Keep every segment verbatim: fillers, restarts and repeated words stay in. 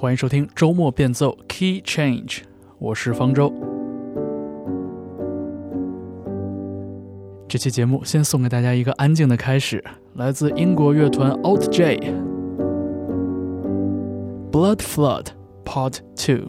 欢迎收听周末变奏 Key Change， 我是方舟。这期节目先送给大家一个安静的开始，来自英国乐团 Alt J Blood Flood Part two。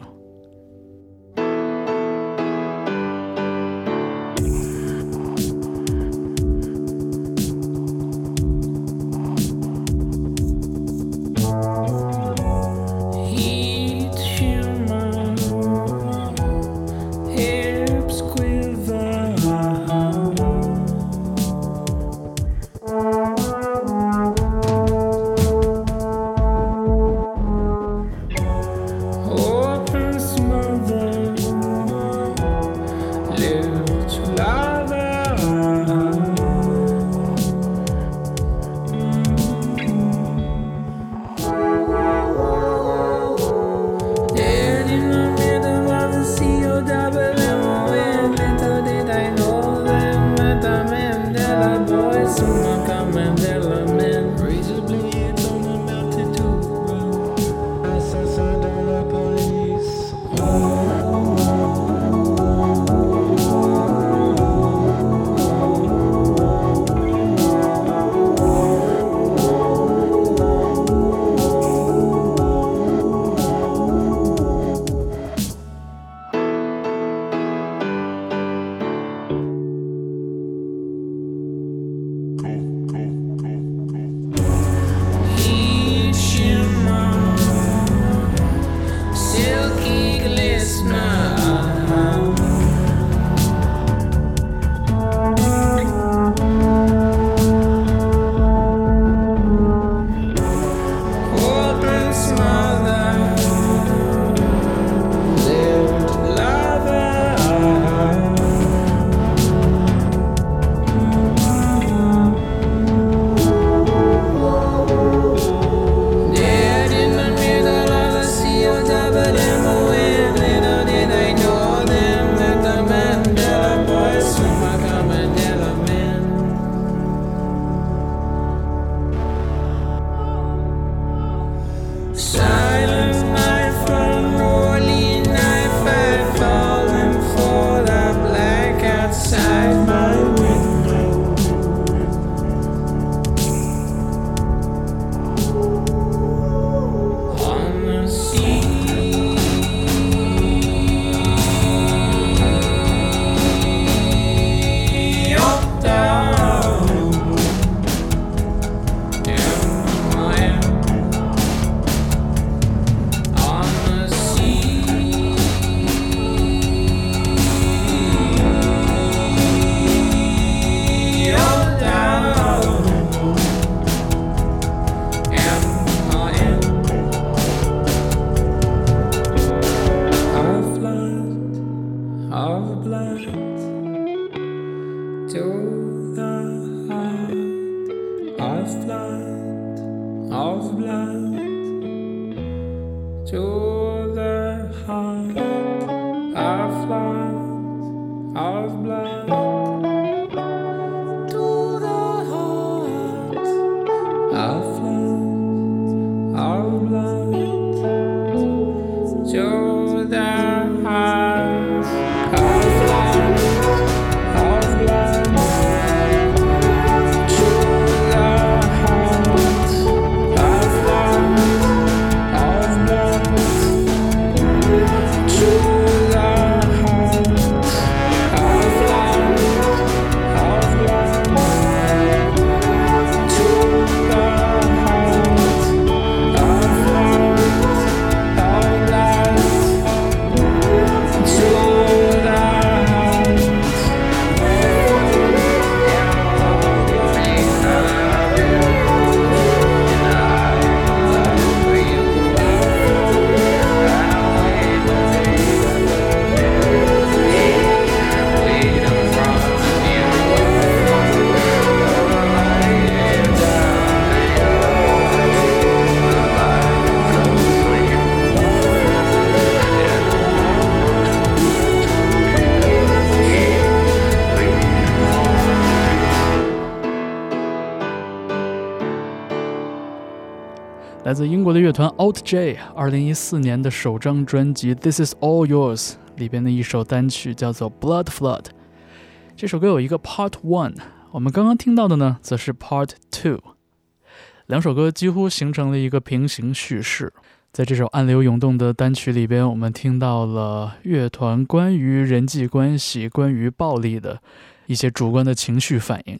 来自英国的乐团 Alt J 二零一四年的首张专辑 This Is All Yours 里边的一首单曲叫做 Blood Flood。 这首歌有一个 Part One， 我们刚刚听到的呢则是 Part Two， 两首歌几乎形成了一个平行叙事。在这首暗流涌动的单曲里边，我们听到了乐团关于人际关系、关于暴力的一些主观的情绪反应。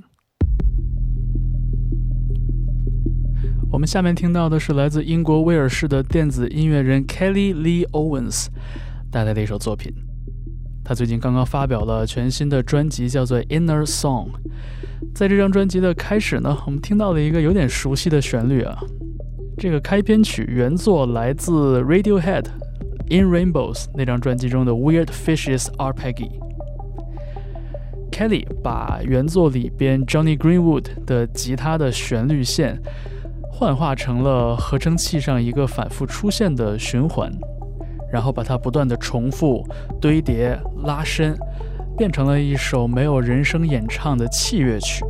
我们下面听到的是来自英国威尔士的电子音乐人 Kelly Lee Owens 带来的一首作品。他最近刚刚发表了全新的专辑，叫做 Inner Song。 在这张专辑的开始呢，我们听到了一个有点熟悉的旋律啊。这个开篇曲原作来自 Radiohead In Rainbows 那张专辑中的 Weird Fishes Arpeggi。Kelly 把原作里边 Johnny Greenwood 的吉他的旋律线幻化成了合成器上一个反复出现的循环，然后把它不断的重复、堆叠、拉伸，变成了一首没有人声演唱的器乐曲。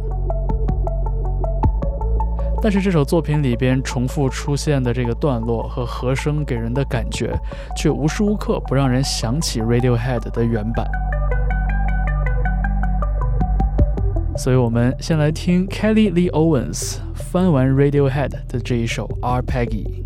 但是这首作品里边重复出现的这个段落和和声给人的感觉，却无时无刻不让人想起 Radiohead 的原版。所以我们先来听 Kelly Lee Owens 翻完 Radiohead 的这一首 Arpeggi。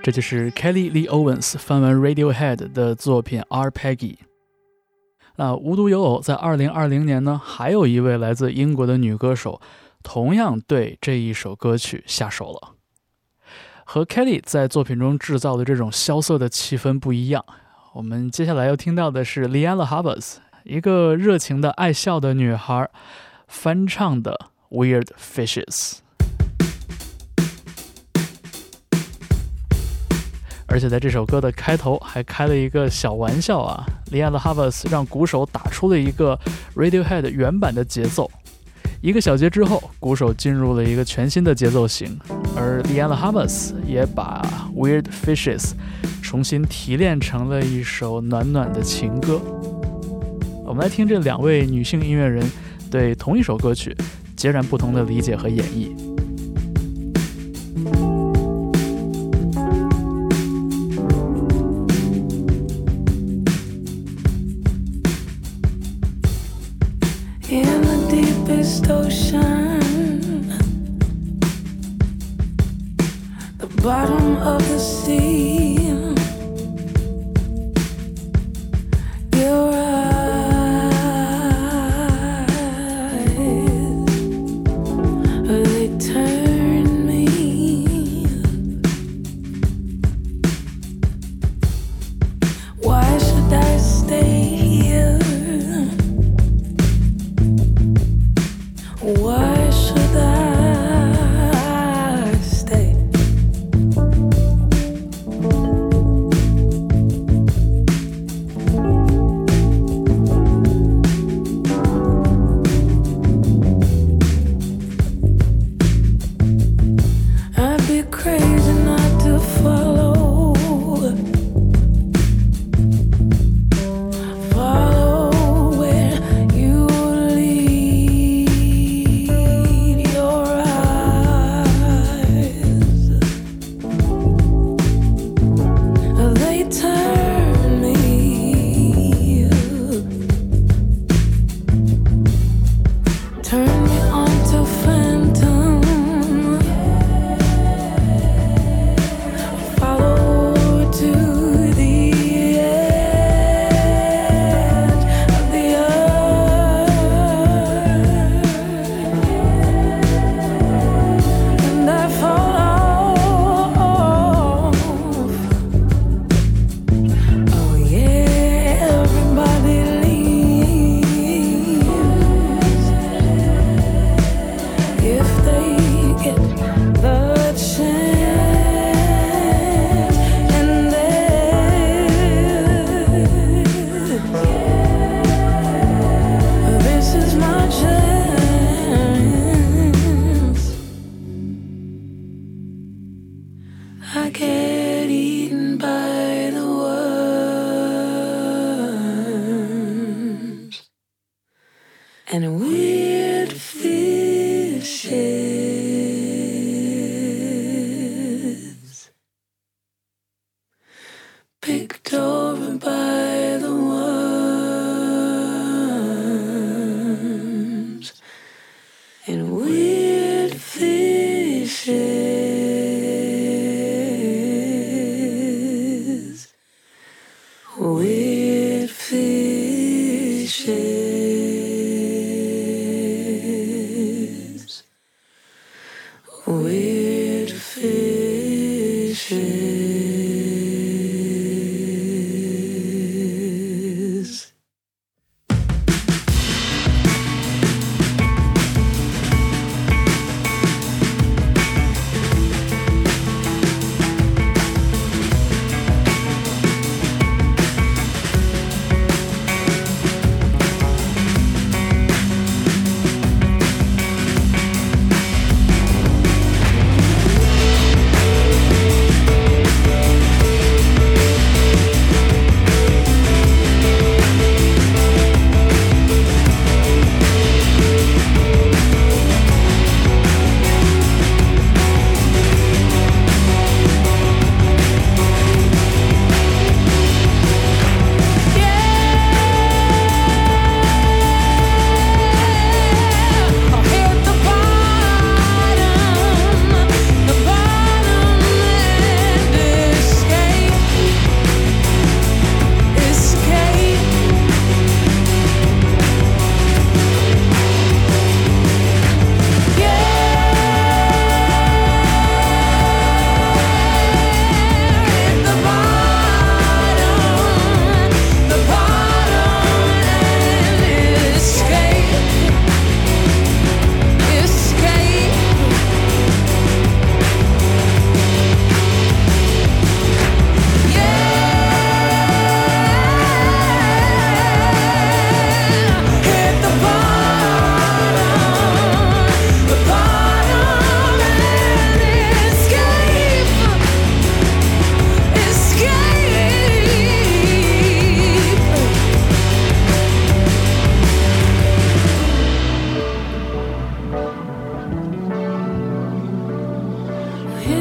这就是 Kelly Lee Owens 翻完 Radiohead 的作品 Arpeggi。 那无独有偶，在二零二零年呢，还有一位来自英国的女歌手同样对这一首歌曲下手了。和 Kelly 在作品中制造的这种萧瑟的气氛不一样，我们接下来要听到的是 Lianne La Havas 一个热情的爱笑的女孩翻唱的 Weird Fishes。而且在这首歌的开头还开了一个小玩笑啊 Lianne La Havas 让鼓手打出了一个 Radiohead 原版的节奏，一个小节之后，鼓手进入了一个全新的节奏型，而 Lianne La Havas 也把 Weird Fishes 重新提炼成了一首暖暖的情歌。我们来听这两位女性音乐人对同一首歌曲截然不同的理解和演绎。 Ocean, the bottom of the sea, your eyes, they turn me. Why should I stay here? Why should I stay? I'd be crazy not to follow. I get eaten by the worms and weird fishes, picked over by the worms and weird fishes. Weird fishes, weird fishes.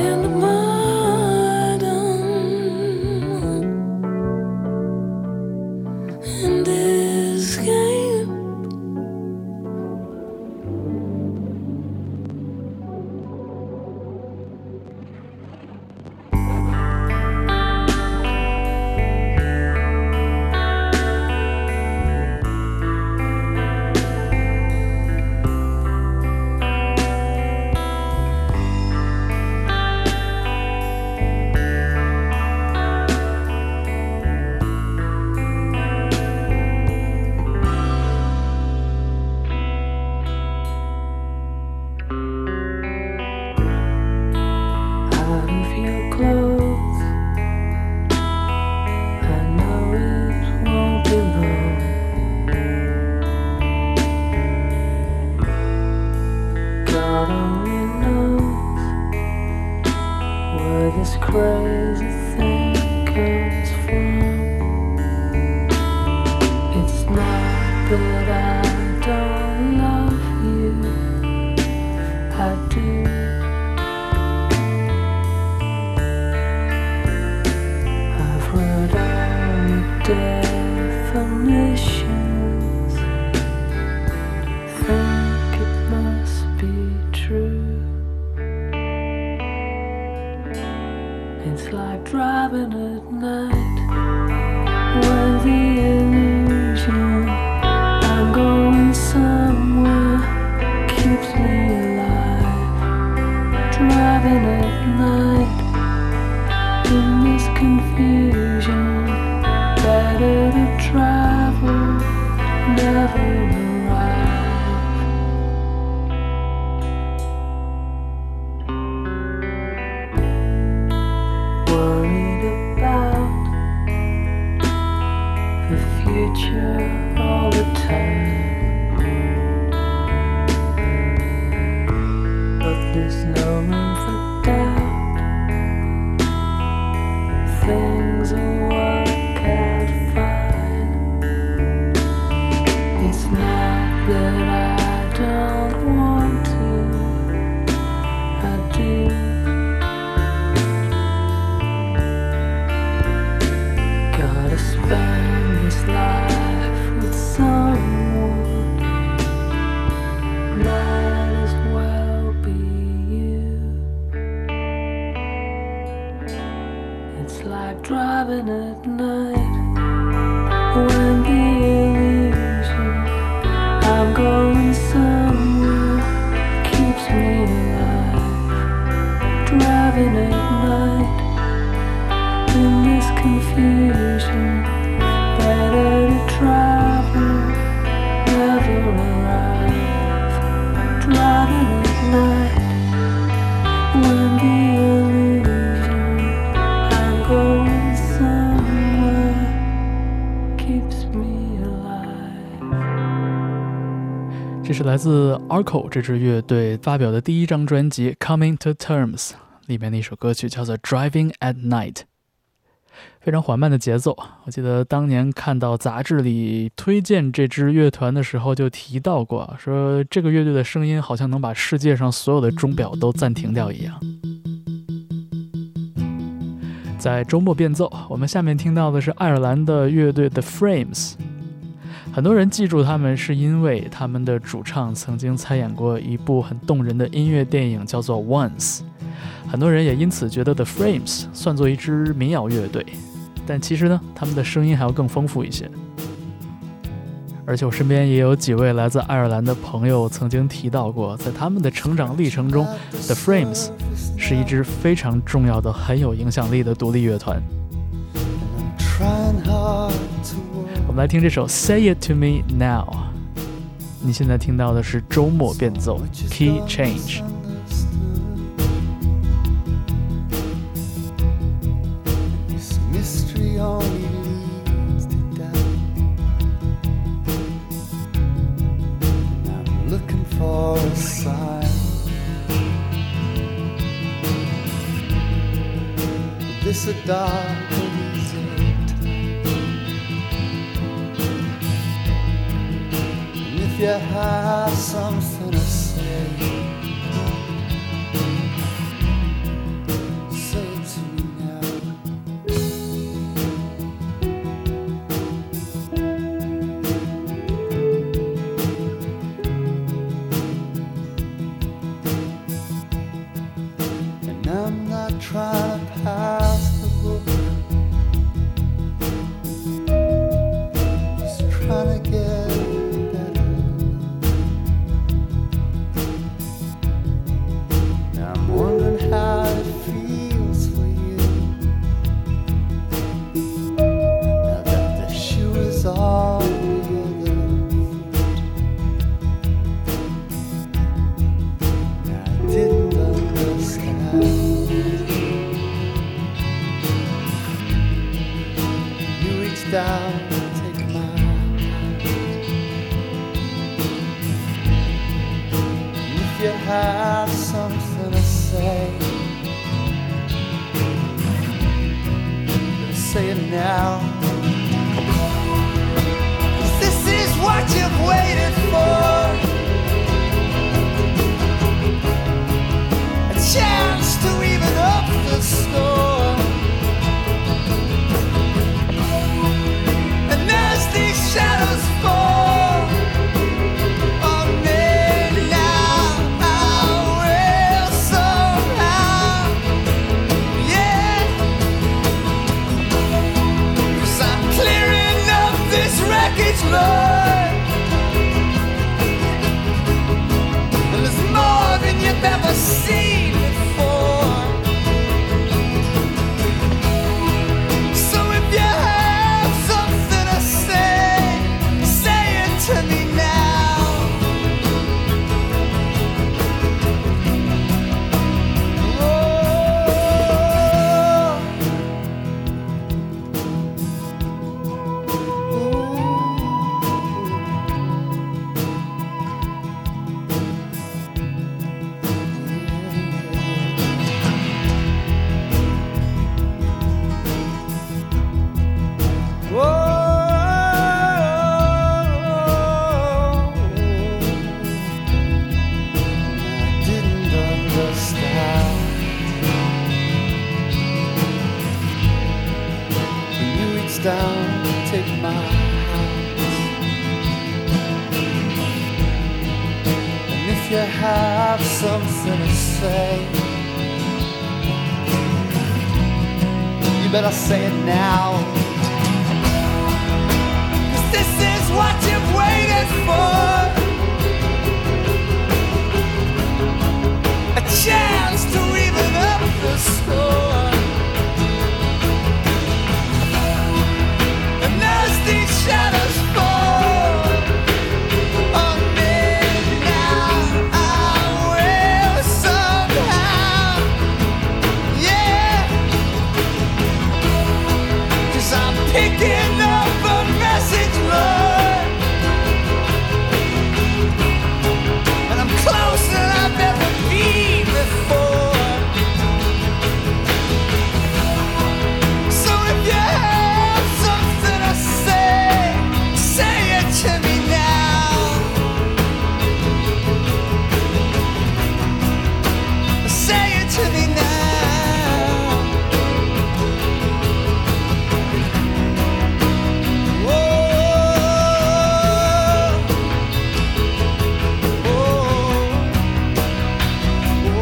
这是来自 Arco 这支乐队发表的第一张专辑 Coming to Terms 里面的一首歌曲，叫做 Driving at Night。 非常缓慢的节奏，我记得当年看到杂志里推荐这支乐团的时候就提到过，说这个乐队的声音好像能把世界上所有的钟表都暂停掉一样。在周末变奏，我们下面听到的是爱尔兰的乐队 The Frames。很多人记住他们是因为他们的主唱曾经参演过一部很动人的音乐电影，叫做 Once。 很多人也因此觉得 The Frames 算作一支民谣乐队，但其实呢，他们的声音还要更丰富一些。而且我身边也有几位来自爱尔兰的朋友曾经提到过，在他们的成长历程中 The Frames 是一支非常重要的很有影响力的独立乐团。我们来听这首 Say It To Me Now。 你现在听到的是周末变奏 Key Change。 For a sign, this a dark desert, and if you have something to say, now. This is what you've waited for. A chance to even up the score. And as these shadows fall on me now, I will somehow, yeah. 'Cause I'm clearing up this wreckage, Lord. And there's more than you've ever seen before. So if you have something to say, say it to me now. Down, take my hand. And if you have something to say, you better say it now. 'Cause this is what you've waited for. A chance to even up the score. These shadows fall on me now, I will somehow, yeah. 'Cause I'm picking up a message, Lord. And I'm closer than I've ever been before. So if you have something to say, say it to me now. Say it to me now. Whoa. Whoa.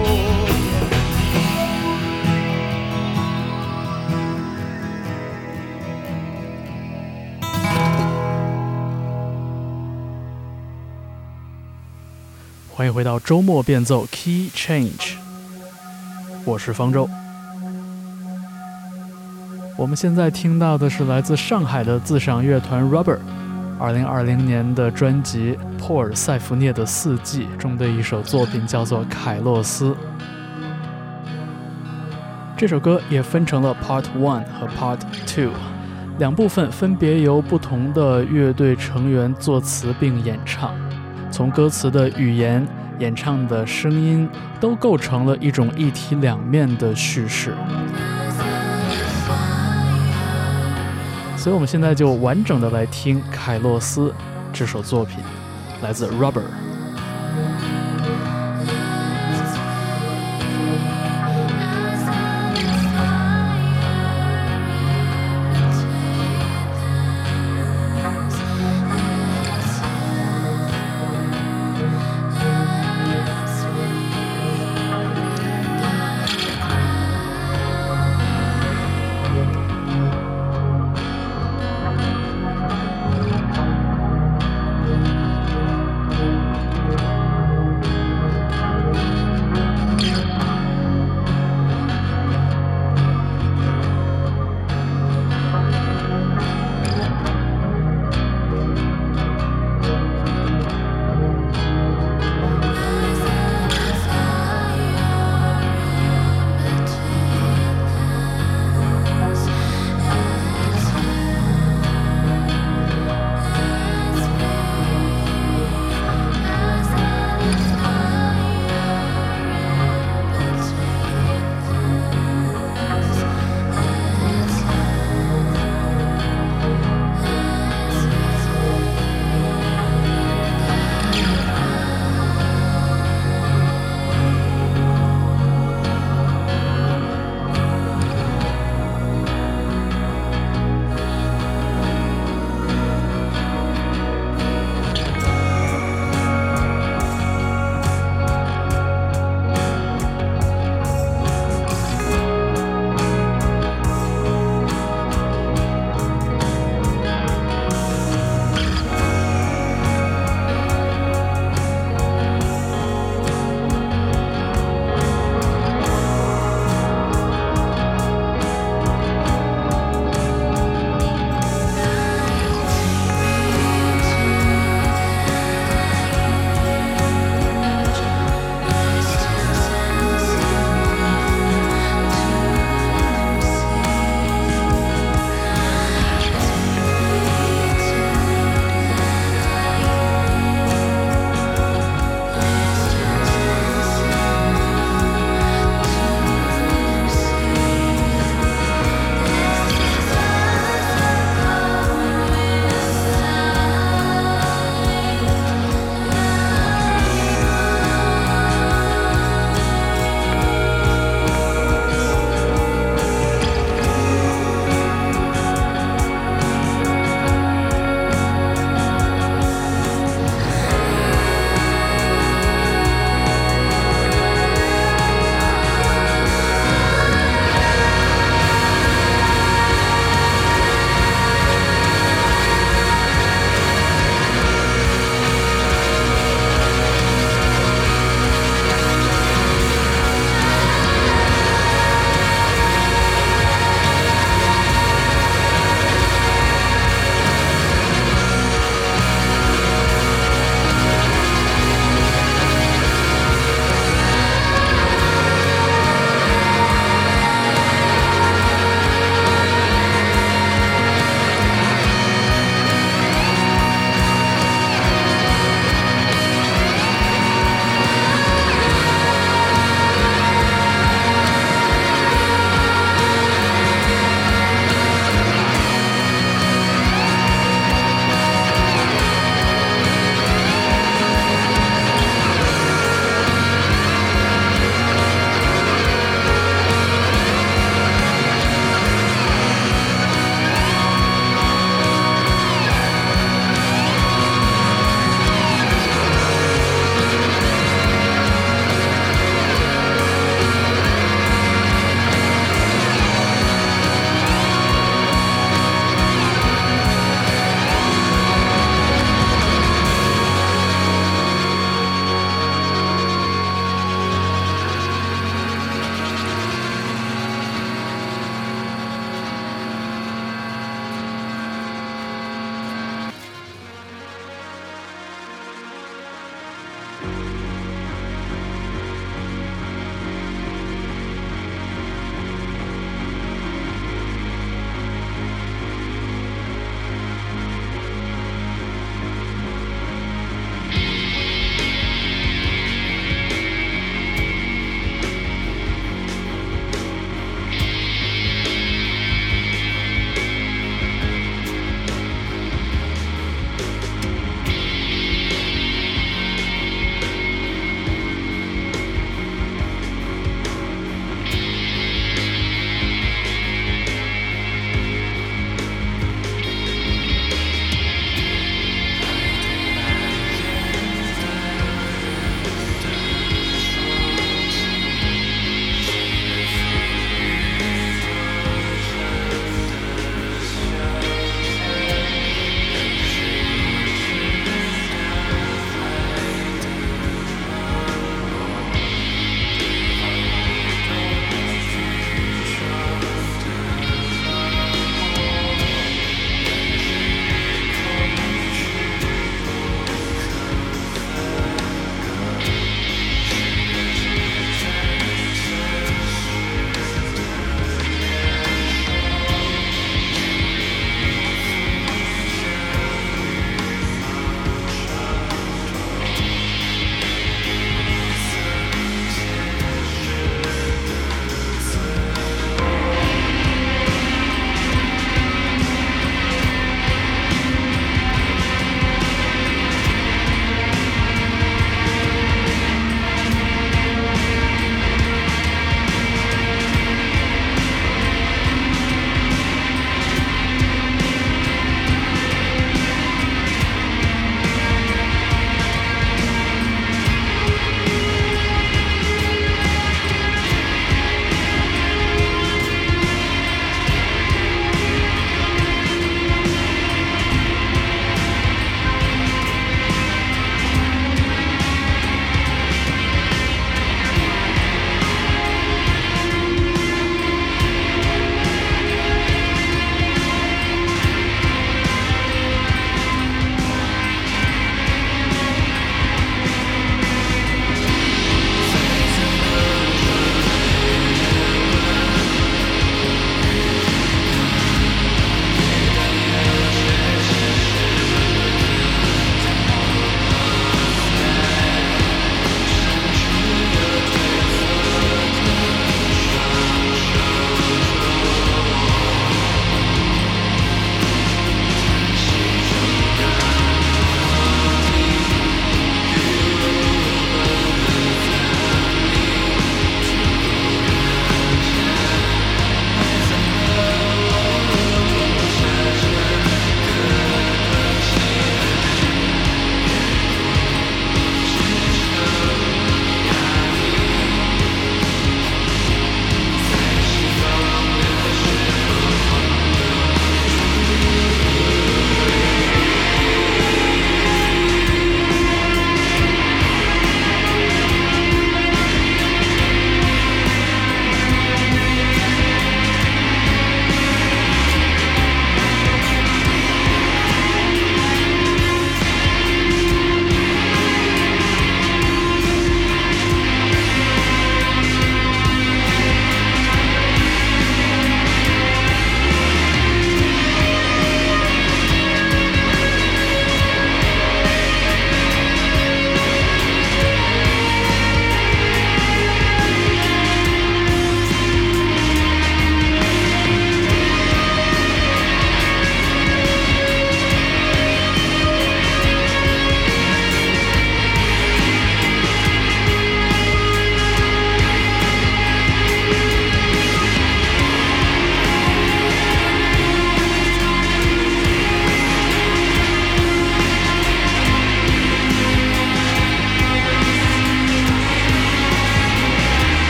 Whoa. 欢迎回到周末变奏 Key Change， 我是方舟。我们现在听到的是来自上海的自赏乐团 Rubber 二零二零年的专辑《珀尔塞福涅的四季》中的一首作品，叫做《凯洛斯》。这首歌也分成了 Part One 和 Part Two 两部分，分别由不同的乐队成员作词并演唱。从歌词的语言、演唱的声音，都构成了一种一体两面的叙事。所以我们现在就完整的来听《凯洛斯》这首作品，来自 Rubber。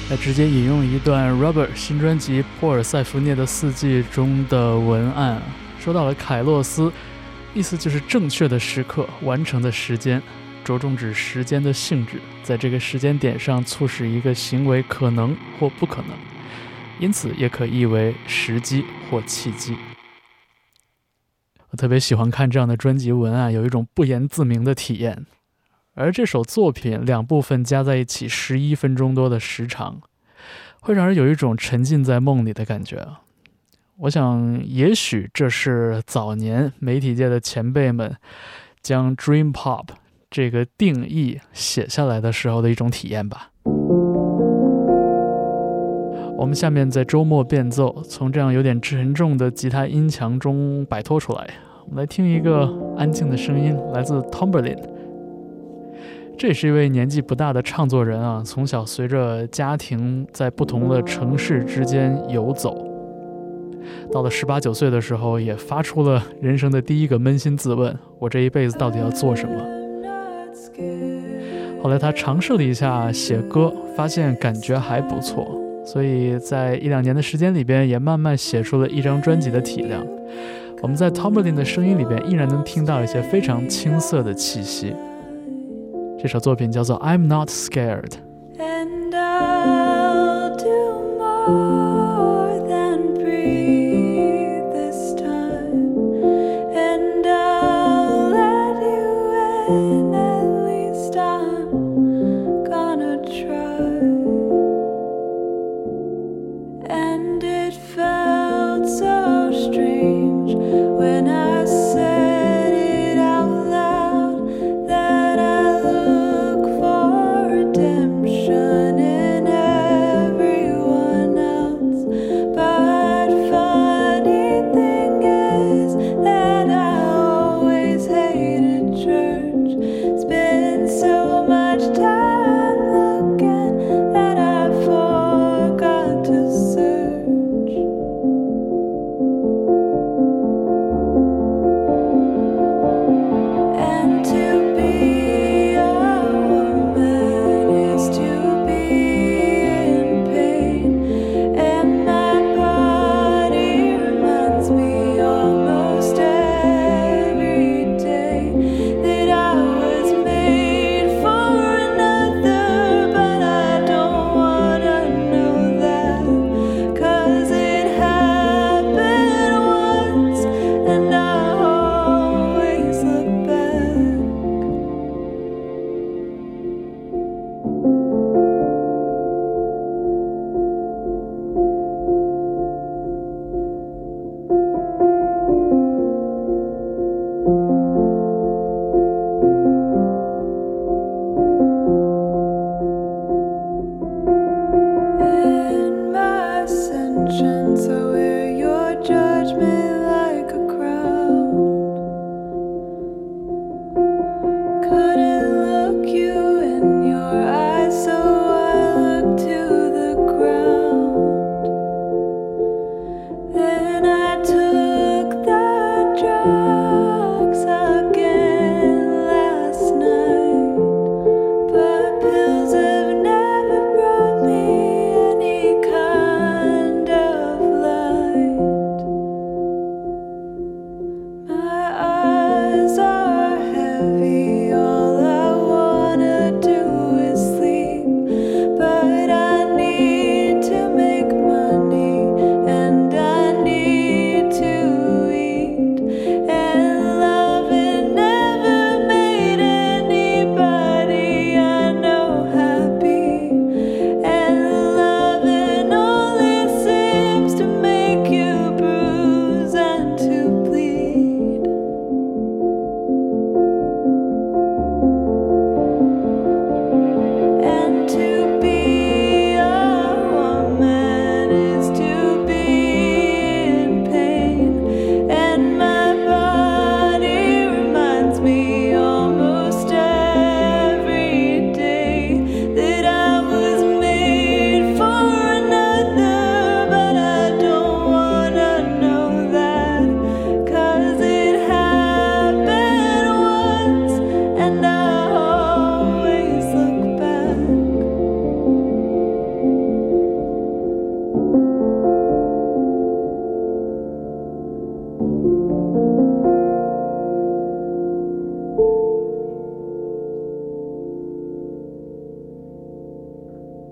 来直接引用一段 Rubber 新专辑《波尔塞福涅的四季》中的文案，说到了凯洛斯，意思就是正确的时刻、完成的时间，着重指时间的性质，在这个时间点上促使一个行为可能或不可能，因此也可译为时机或契机。我特别喜欢看这样的专辑文案，有一种不言自明的体验。而这首作品两部分加在一起十一分钟多的时长，会让人有一种沉浸在梦里的感觉。我想也许这是早年媒体界的前辈们将 Dream Pop 这个定义写下来的时候的一种体验吧。我们下面在周末变奏，从这样有点沉重的吉他音墙中摆脱出来，我们来听一个安静的声音，来自 Tomberlin。这也是一位年纪不大的唱作人啊，从小随着家庭在不同的城市之间游走，到了十八九岁的时候，也发出了人生的第一个扪心自问：我这一辈子到底要做什么？后来他尝试了一下写歌，发现感觉还不错，所以在一两年的时间里边，也慢慢写出了一张专辑的体量。我们在 Tomberlin 的声音里边，依然能听到一些非常青涩的气息。这首作品叫做 I'm Not Scared。 And I'll do more than breathe this time. And I'll let you in, at least I'm gonna try. And it felt so strange when I said it out loud, that I look for redemption in everyone else.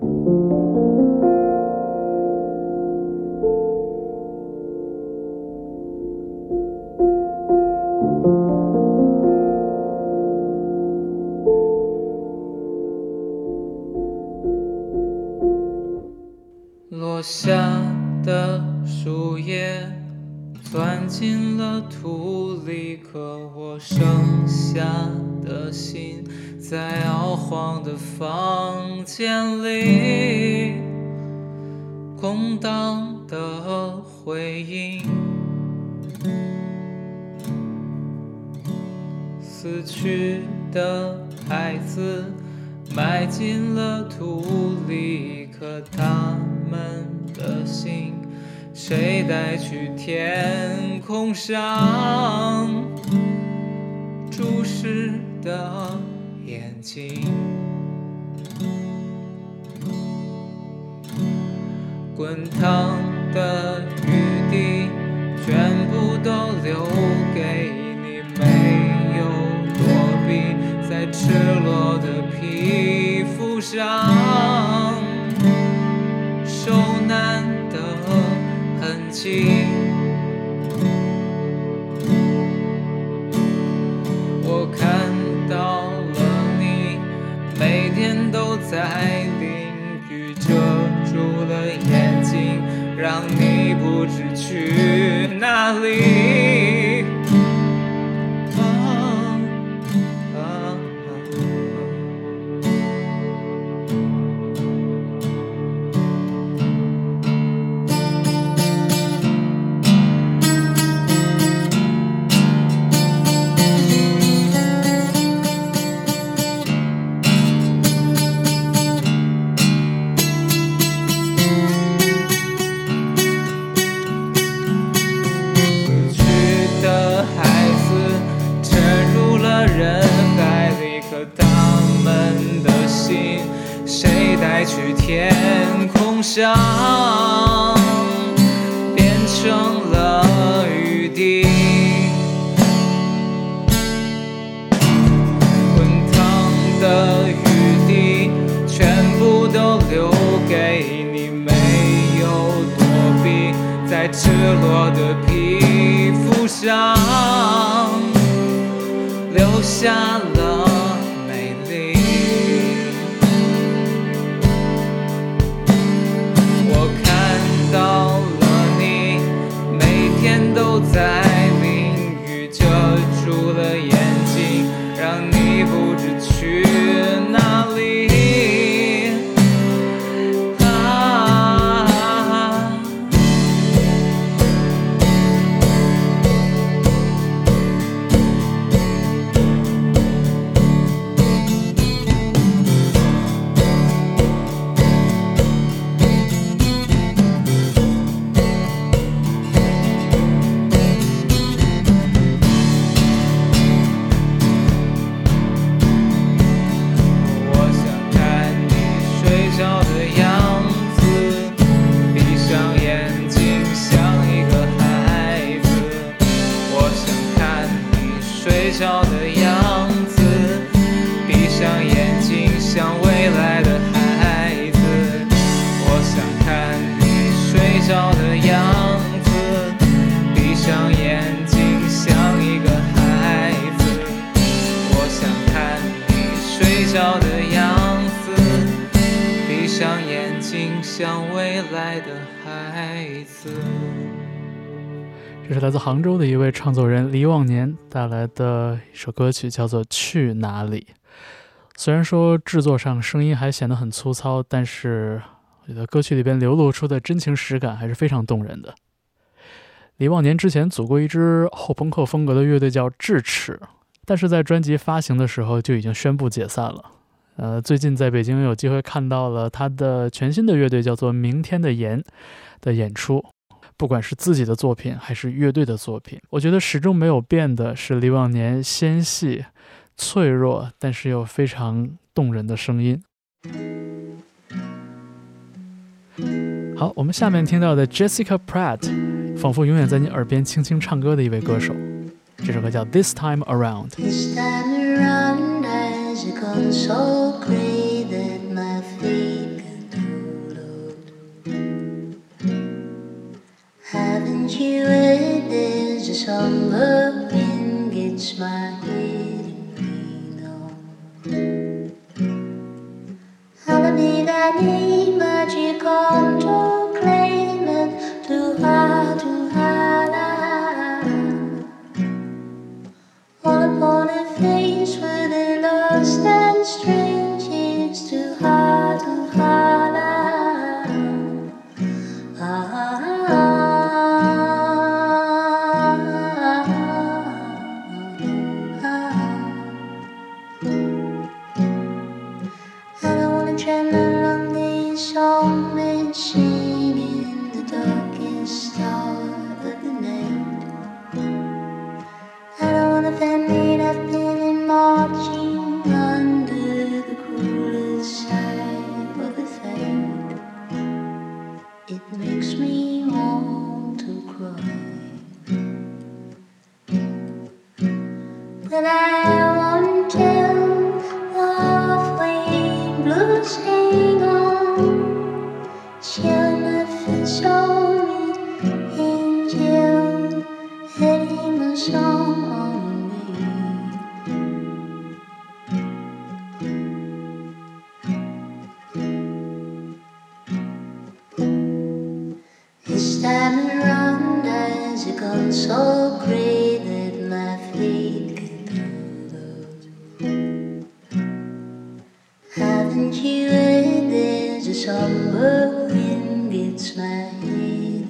落下的树叶钻进了土里，可我剩下的心在摇晃的房间里，空荡的回音，死去的孩子埋进了土里，可他们的心谁带去天空上注视的眼睛？滚烫的雨滴全部都留给你，没有躲避在赤裸的皮肤上受难的痕迹。我看到了你每天都在淋雨，遮住了眼睛，让你不知去哪里。啊啊啊谁带去天空上变成了雨滴，滚烫的雨滴全部都留给你，没有躲避在赤裸的皮肤上留下了美丽。到了你每天都在淋雨，遮住了眼睛，让你不知去哪里。啊睡着的样子，闭上眼睛像未来的孩子。我想看你睡着的样子，闭上眼睛像一个孩子。我想看你睡着的样子，闭上眼睛像未来的孩子。 这是来自杭州的一位创作人黎望年带来的一首歌曲，叫做《去哪里》。虽然说制作上声音还显得很粗糙，但是我觉得歌曲里边流露出的真情实感还是非常动人的。黎望年之前组过一支后朋克风格的乐队叫智齿，但是在专辑发行的时候就已经宣布解散了。呃，最近在北京有机会看到了他的全新的乐队叫做明天的盐的演出。不管是自己的作品还是乐队的作品，我觉得始终没有变的是黎望年纤细、脆弱，但是又非常动人的声音。好，我们下面听到的 Jessica Pratt， 仿佛永远在你耳边轻轻唱歌的一位歌手。这首歌叫 This Time Around。 This time around has gone so great that my feet song may sing in the darkest hour of the night. I don't wanna family I've been marching under the coolest side of the fight. It makes me want to cry. But I won't tell the halfway blues hang on. She'll never show me angel heading a song on me. This time around has gone so great that my fate haven't you heard there's a somber wind gets my head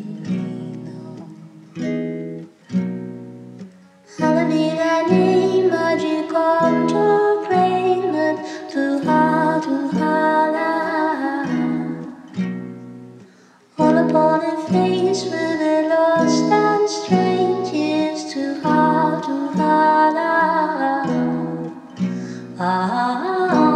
rain on. Holiday that name magic come to pray not too hard to holler. All upon a face with a lost and strange is too hard to holler. Ah.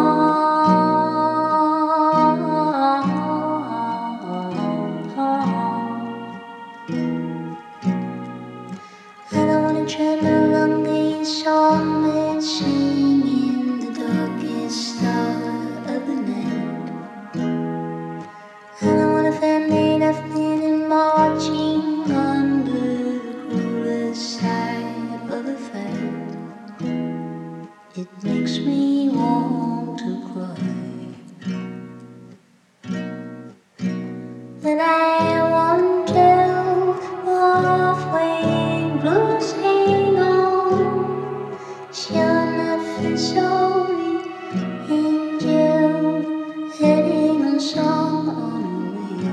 Tremble on these songs that sing in the darkest hour of the night. I don't want a family I've been marching under the coolest side of the fight. It makes me want to cry. But I won't tell the halfway blues hang on. She'll never show me angel heading a song on me.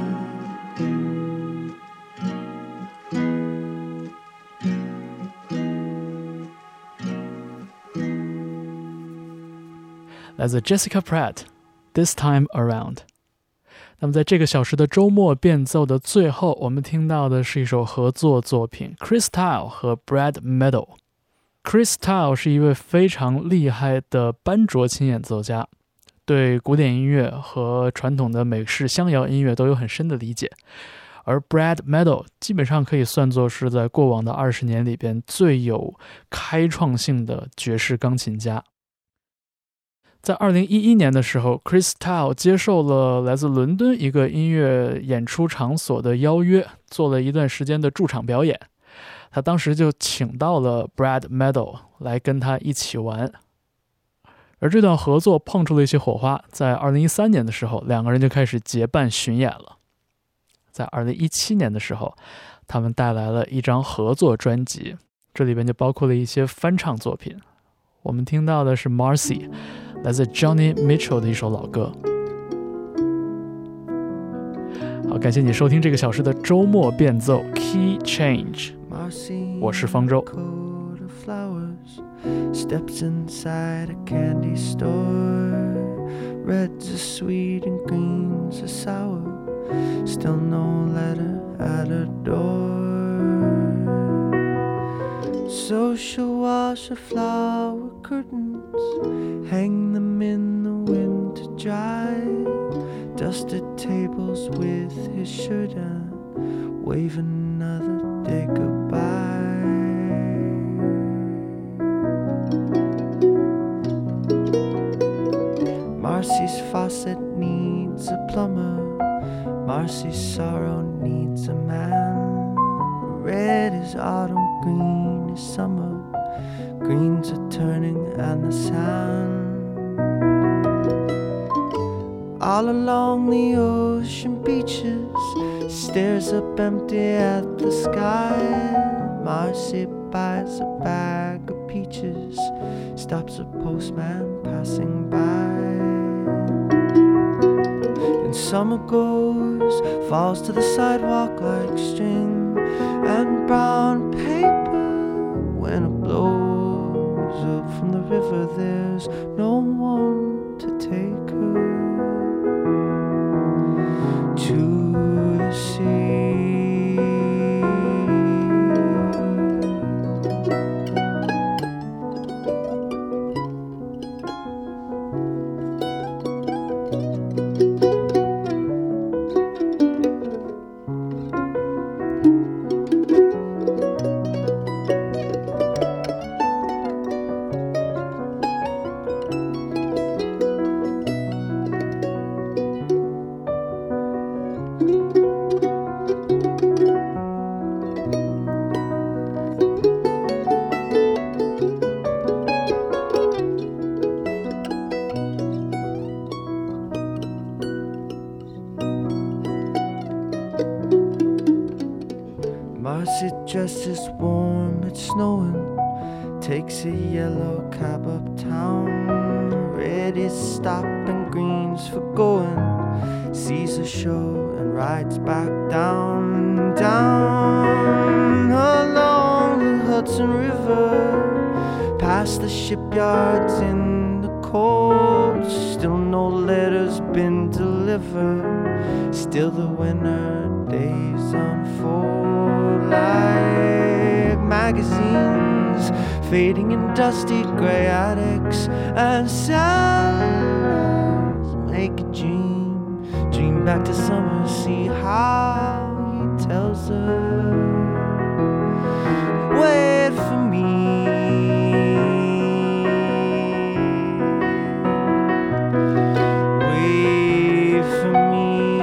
来自 Jessica Pratt This Time Around。 那么在这个小时的周末变奏的最后，我们听到的是一首合作作品 Chris Tile 和 Brad Meadow。 Chris Tile 是一位非常厉害的班卓琴演奏家，对古典音乐和传统的美式乡谣音乐都有很深的理解，而 Brad Meadow 基本上可以算作是在过往的二十年里边最有开创性的爵士钢琴家。在二零一一年的时候 Chris Tile 接受了来自伦敦一个音乐演出场所的邀约，做了一段时间的驻场表演。他当时就请到了 Brad Meadow 来跟他一起玩，而这段合作碰出了一些火花。在二零一三年的时候，两个人就开始结伴巡演了。在二零一七年的时候，他们带来了一张合作专辑，这里边就包括了一些翻唱作品。我们听到的是 Marcy， 来自 Johnny Mitchell 的一首老歌。好，感谢你收听这个小时的周末变奏 Key Change， 我是方舟。 Steps inside a candy store. Reds are sweet and greens are sour. Still no letter at her door. So she'll wash her flower curtains, hang them in the wind to dry. Dusted tables with his shirt on, wave another day goodbye. Marcy's faucet needs a plumber. Marcy's sorrow needs a man. Red is autumn, green is summer. Greens are turning and the sand. All along the ocean beaches, stares up empty at the sky. Marcy buys a bag of peaches, stops a postman passing by. And summer goes, falls to the sidewalk like string and brown paper. When it blows up from the river, there's no one to take her. Marcy dresses warm, it's snowing. Takes a yellow cab uptown. Red is stop and green's for going. Sees a show and rides back down, down along the Hudson River, past the shipyards in the cold. Still no letters been delivered. Still the winter days unfold like magazines, fading in dusty gray attics, and cellars make a dream, dream back to summer. See how he tells her, wait for me. Wait for me.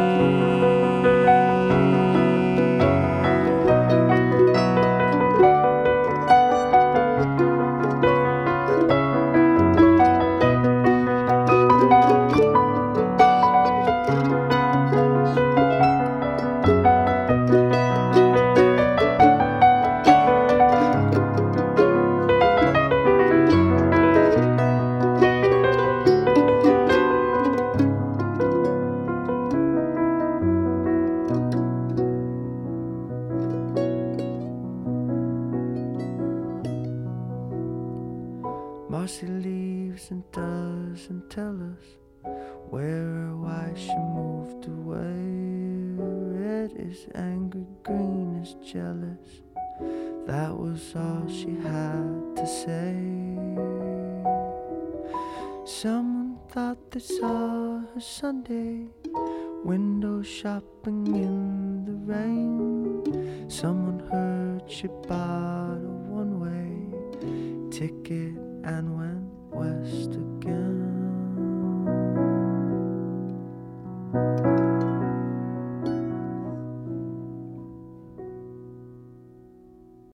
Marcy leaves and doesn't tell us where or why she moved away. Red is angry, green is jealous. That was all she had to say. Someone thought they saw her Sunday, window shopping in the rain. Someone heard she bought a one-way ticket and went west again.